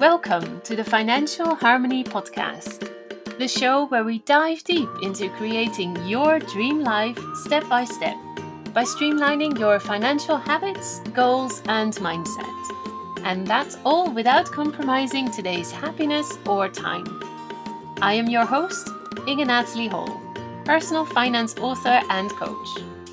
Welcome to the Financial Harmony Podcast, the show where we dive deep into creating your dream life step by step by streamlining your financial habits, goals, and mindset. And that's all without compromising today's happiness or time. I am your host, Inge Natalie Hall, personal finance author and coach.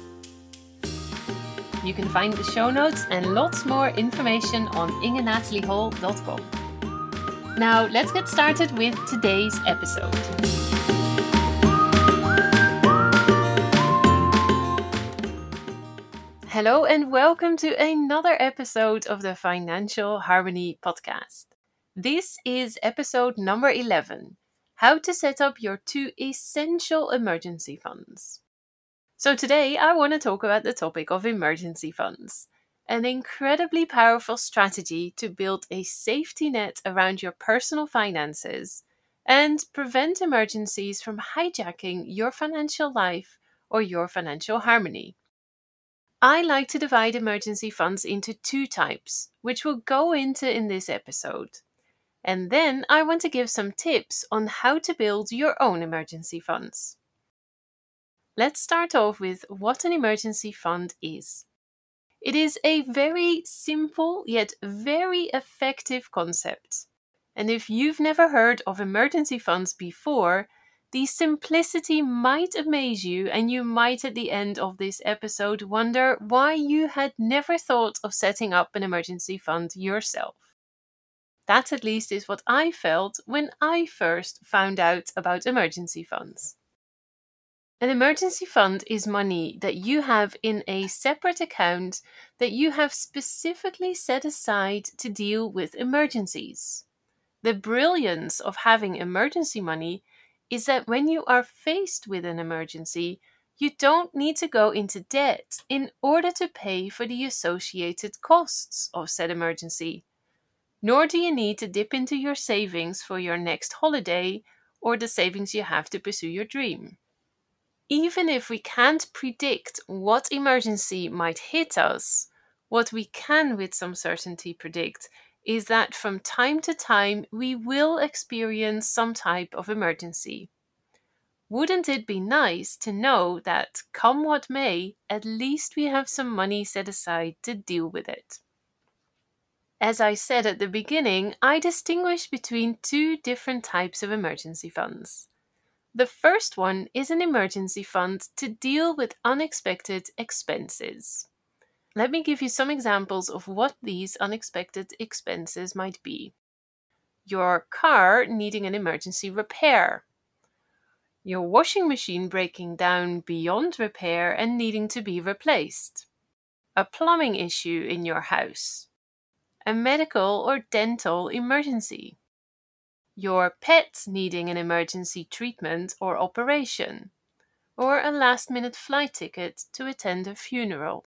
You can find the show notes and lots more information on ingenathaliehall.com. Now, let's get started with today's episode. Hello and welcome to another episode of the Financial Harmony Podcast. This is episode number 11, How to Set Up Your 2 Essential Emergency Funds. So today I want to talk about the topic of emergency funds. An incredibly powerful strategy to build a safety net around your personal finances and prevent emergencies from hijacking your financial life or your financial harmony. I like to divide emergency funds into 2 types, which we'll go into in this episode. And then I want to give some tips on how to build your own emergency funds. Let's start off with what an emergency fund is. It is a very simple yet very effective concept. And if you've never heard of emergency funds before, the simplicity might amaze you, and you might at the end of this episode wonder why you had never thought of setting up an emergency fund yourself. That at least is what I felt when I first found out about emergency funds. An emergency fund is money that you have in a separate account that you have specifically set aside to deal with emergencies. The brilliance of having emergency money is that when you are faced with an emergency, you don't need to go into debt in order to pay for the associated costs of said emergency. Nor do you need to dip into your savings for your next holiday or the savings you have to pursue your dream. Even if we can't predict what emergency might hit us, what we can with some certainty predict is that from time to time we will experience some type of emergency. Wouldn't it be nice to know that, come what may, at least we have some money set aside to deal with it? As I said at the beginning, I distinguish between 2 different types of emergency funds. The first one is an emergency fund to deal with unexpected expenses. Let me give you some examples of what these unexpected expenses might be. Your car needing an emergency repair. Your washing machine breaking down beyond repair and needing to be replaced. A plumbing issue in your house. A medical or dental emergency. Your pet needing an emergency treatment or operation, or a last-minute flight ticket to attend a funeral.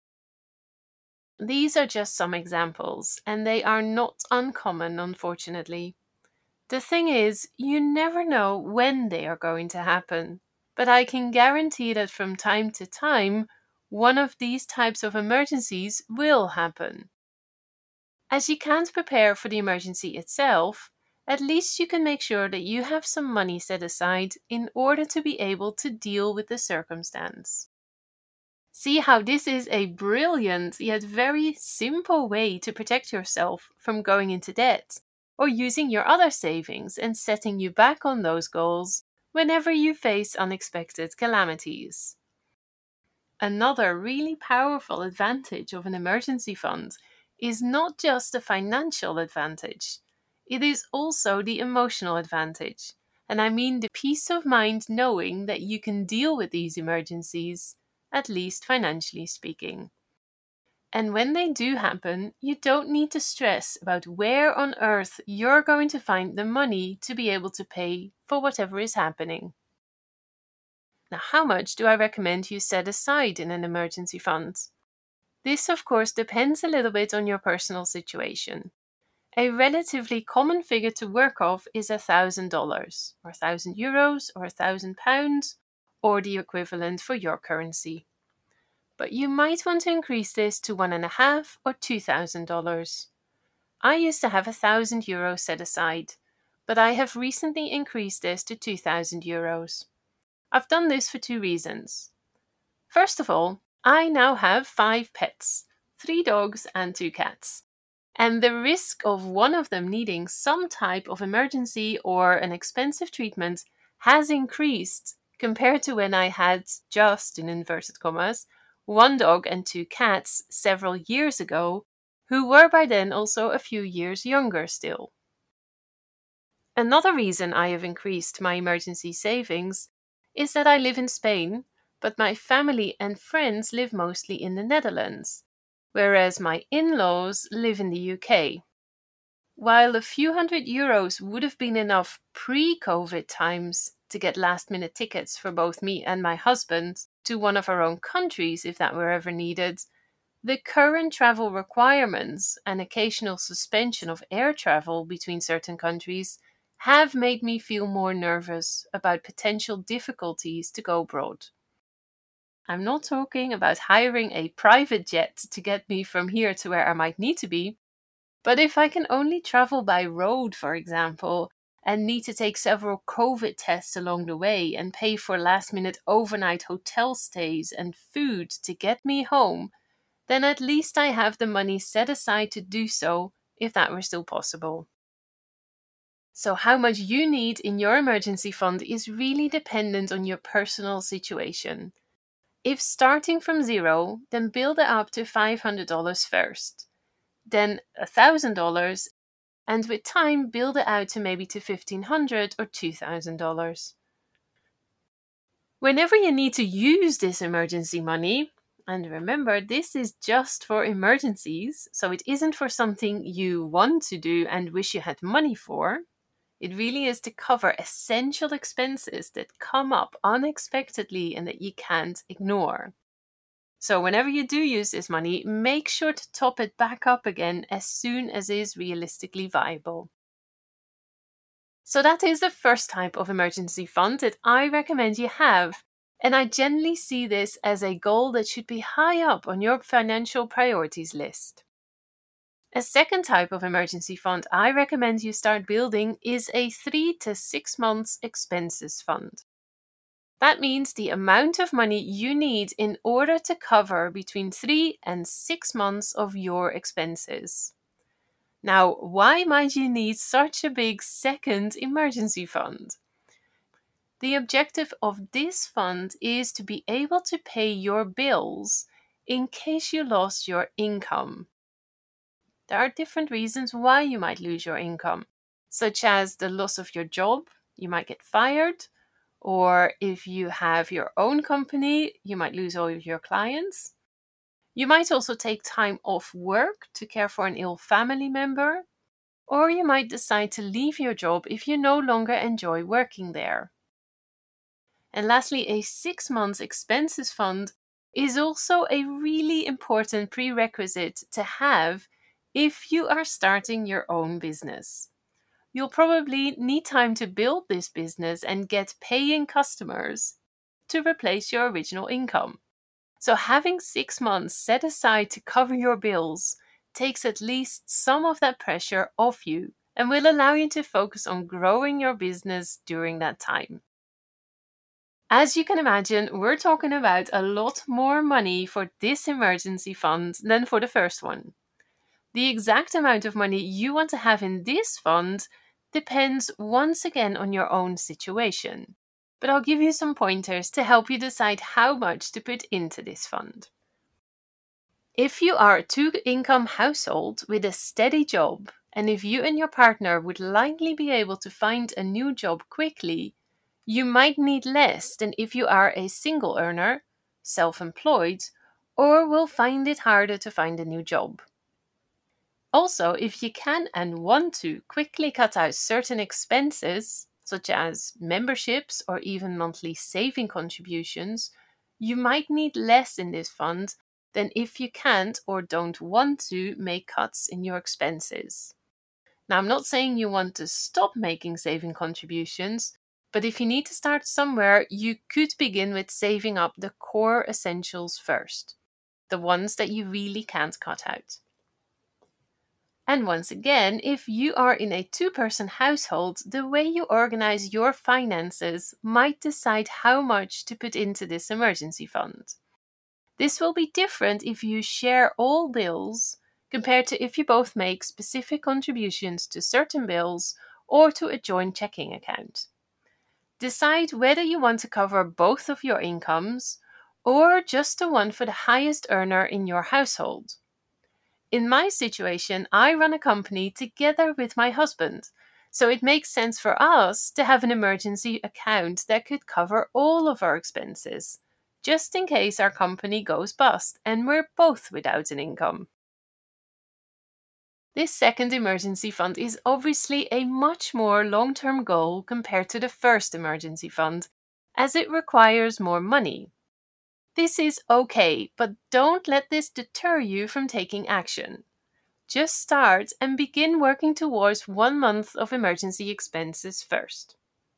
These are just some examples, and they are not uncommon, unfortunately. The thing is, you never know when they are going to happen, but I can guarantee that from time to time, one of these types of emergencies will happen. As you can't prepare for the emergency itself, at least you can make sure that you have some money set aside in order to be able to deal with the circumstance. See how this is a brilliant yet very simple way to protect yourself from going into debt or using your other savings and setting you back on those goals whenever you face unexpected calamities. Another really powerful advantage of an emergency fund is not just the financial advantage. It is also the emotional advantage, and I mean the peace of mind knowing that you can deal with these emergencies, at least financially speaking. And when they do happen, you don't need to stress about where on earth you're going to find the money to be able to pay for whatever is happening. Now, how much do I recommend you set aside in an emergency fund? This, of course, depends a little bit on your personal situation. A relatively common figure to work off is $1,000, or €1,000, or £1,000, or the equivalent for your currency. But you might want to increase this to $1,500 or $2,000. I used to have €1,000 set aside, but I have recently increased this to €2,000. I've done this for two reasons. First of all, I now have 5 pets, 3 dogs and 2 cats. And the risk of one of them needing some type of emergency or an expensive treatment has increased compared to when I had just, in inverted commas, 1 dog and 2 cats several years ago, who were by then also a few years younger still. Another reason I have increased my emergency savings is that I live in Spain, but my family and friends live mostly in the Netherlands, whereas my in-laws live in the UK. While a few €100 would have been enough pre-COVID times to get last-minute tickets for both me and my husband to one of our own countries if that were ever needed, the current travel requirements and occasional suspension of air travel between certain countries have made me feel more nervous about potential difficulties to go abroad. I'm not talking about hiring a private jet to get me from here to where I might need to be, but if I can only travel by road, for example, and need to take several COVID tests along the way and pay for last-minute overnight hotel stays and food to get me home, then at least I have the money set aside to do so if that were still possible. So how much you need in your emergency fund is really dependent on your personal situation. If starting from zero, then build it up to $500 first, then $1,000, and with time build it out to maybe to $1,500 or $2,000. Whenever you need to use this emergency money, and remember, this is just for emergencies, so it isn't for something you want to do and wish you had money for. It really is to cover essential expenses that come up unexpectedly and that you can't ignore. So whenever you do use this money, make sure to top it back up again as soon as is realistically viable. So that is the first type of emergency fund that I recommend you have. And I generally see this as a goal that should be high up on your financial priorities list. A second type of emergency fund I recommend you start building is a 3 to 6 months expenses fund. That means the amount of money you need in order to cover between 3 and 6 months of your expenses. Now, why might you need such a big second emergency fund? The objective of this fund is to be able to pay your bills in case you lost your income. There are different reasons why you might lose your income, such as the loss of your job, you might get fired, or if you have your own company, you might lose all of your clients. You might also take time off work to care for an ill family member, or you might decide to leave your job if you no longer enjoy working there. And lastly, a 6 months expenses fund is also a really important prerequisite to have if you are starting your own business. You'll probably need time to build this business and get paying customers to replace your original income. So having 6 months set aside to cover your bills takes at least some of that pressure off you and will allow you to focus on growing your business during that time. As you can imagine, we're talking about a lot more money for this emergency fund than for the first one. The exact amount of money you want to have in this fund depends once again on your own situation. But I'll give you some pointers to help you decide how much to put into this fund. If you are a 2-income household with a steady job, and if you and your partner would likely be able to find a new job quickly, you might need less than if you are a single earner, self-employed, or will find it harder to find a new job. Also, if you can and want to quickly cut out certain expenses, such as memberships or even monthly saving contributions, you might need less in this fund than if you can't or don't want to make cuts in your expenses. Now, I'm not saying you want to stop making saving contributions, but if you need to start somewhere, you could begin with saving up the core essentials first, the ones that you really can't cut out. And once again, if you are in a two-person household, the way you organize your finances might decide how much to put into this emergency fund. This will be different if you share all bills compared to if you both make specific contributions to certain bills or to a joint checking account. Decide whether you want to cover both of your incomes or just the one for the highest earner in your household. In my situation, I run a company together with my husband, so it makes sense for us to have an emergency account that could cover all of our expenses, just in case our company goes bust and we're both without an income. This second emergency fund is obviously a much more long-term goal compared to the first emergency fund, as it requires more money. This is okay, but don't let this deter you from taking action. Just start and begin working towards 1 month of emergency expenses first.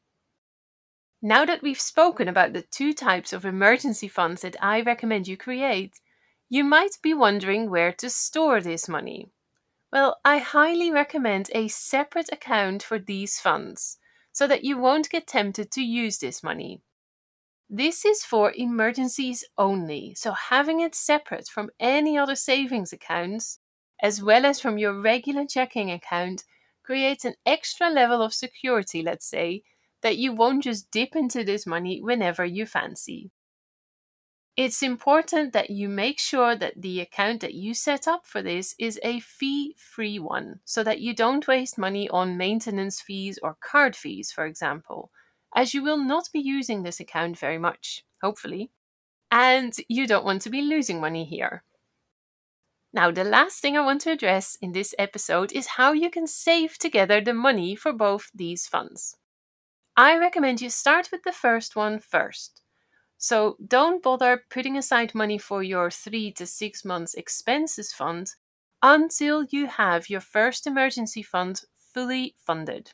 Now that we've spoken about the two types of emergency funds that I recommend you create, you might be wondering where to store this money. Well, I highly recommend a separate account for these funds, so that you won't get tempted to use this money. This is for emergencies only, so having it separate from any other savings accounts, as well as from your regular checking account, creates an extra level of security, let's say, that you won't just dip into this money whenever you fancy. It's important that you make sure that the account that you set up for this is a fee-free one, so that you don't waste money on maintenance fees or card fees, for example, as you will not be using this account very much, hopefully, and you don't want to be losing money here. Now, the last thing I want to address in this episode is how you can save together the money for both these funds. I recommend you start with the first one first. So don't bother putting aside money for your 3 to 6 months expenses fund until you have your first emergency fund fully funded.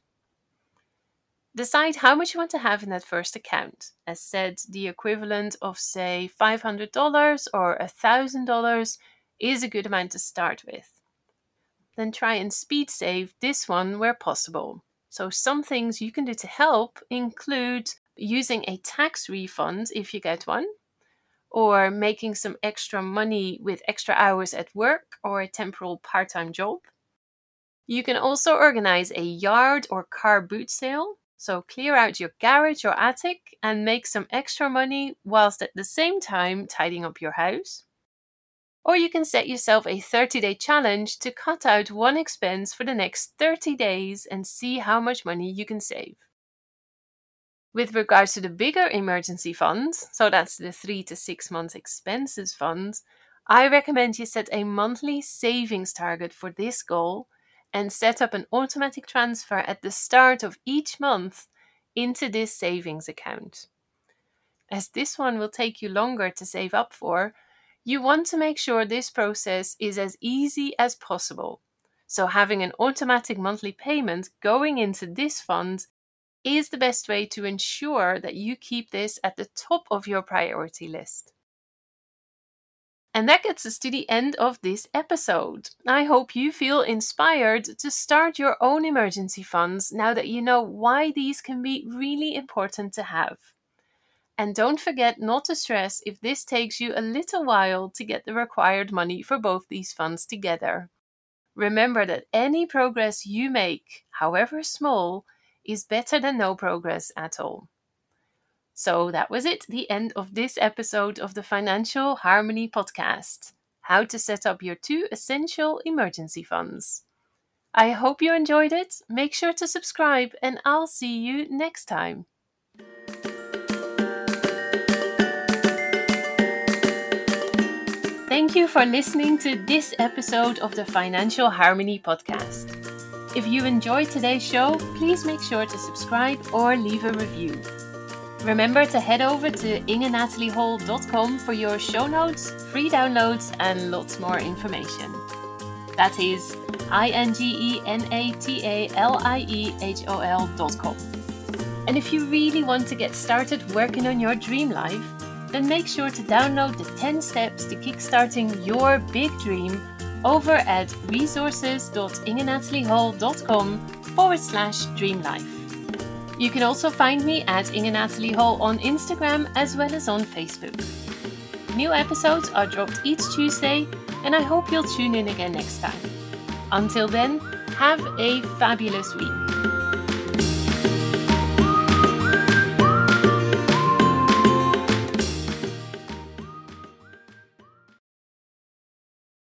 Decide how much you want to have in that first account. As said, the equivalent of, say, $500 or $1,000 is a good amount to start with. Then try and speed save this one where possible. So some things you can do to help include using a tax refund if you get one, or making some extra money with extra hours at work or a temporal part-time job. You can also organize a yard or car boot sale, so clear out your garage or attic and make some extra money whilst at the same time tidying up your house. Or you can set yourself a 30-day challenge to cut out one expense for the next 30 days and see how much money you can save. With regards to the bigger emergency fund, so that's the 3 to 6 months expenses fund, I recommend you set a monthly savings target for this goal and set up an automatic transfer at the start of each month into this savings account. As this one will take you longer to save up for, you want to make sure this process is as easy as possible. So having an automatic monthly payment going into this fund is the best way to ensure that you keep this at the top of your priority list. And that gets us to the end of this episode. I hope you feel inspired to start your own emergency funds now that you know why these can be really important to have. And don't forget not to stress if this takes you a little while to get the required money for both these funds together. Remember that any progress you make, however small, is better than no progress at all. So that was it, the end of this episode of the Financial Harmony podcast. How to set up your 2 essential emergency funds. I hope you enjoyed it. Make sure to subscribe and I'll see you next time. Thank you for listening to this episode of the Financial Harmony podcast. If you enjoyed today's show, please make sure to subscribe or leave a review. Remember to head over to ingenatalieHall.com for your show notes, free downloads, and lots more information. That is ingenatalieHOL.com. And if you really want to get started working on your dream life, then make sure to download the 10 steps to kickstarting your big dream over at resources.ingenataliehall.com/dreamlife. You can also find me at Inge Natalie Hall on Instagram as well as on Facebook. New episodes are dropped each Tuesday, and I hope you'll tune in again next time. Until then, have a fabulous week.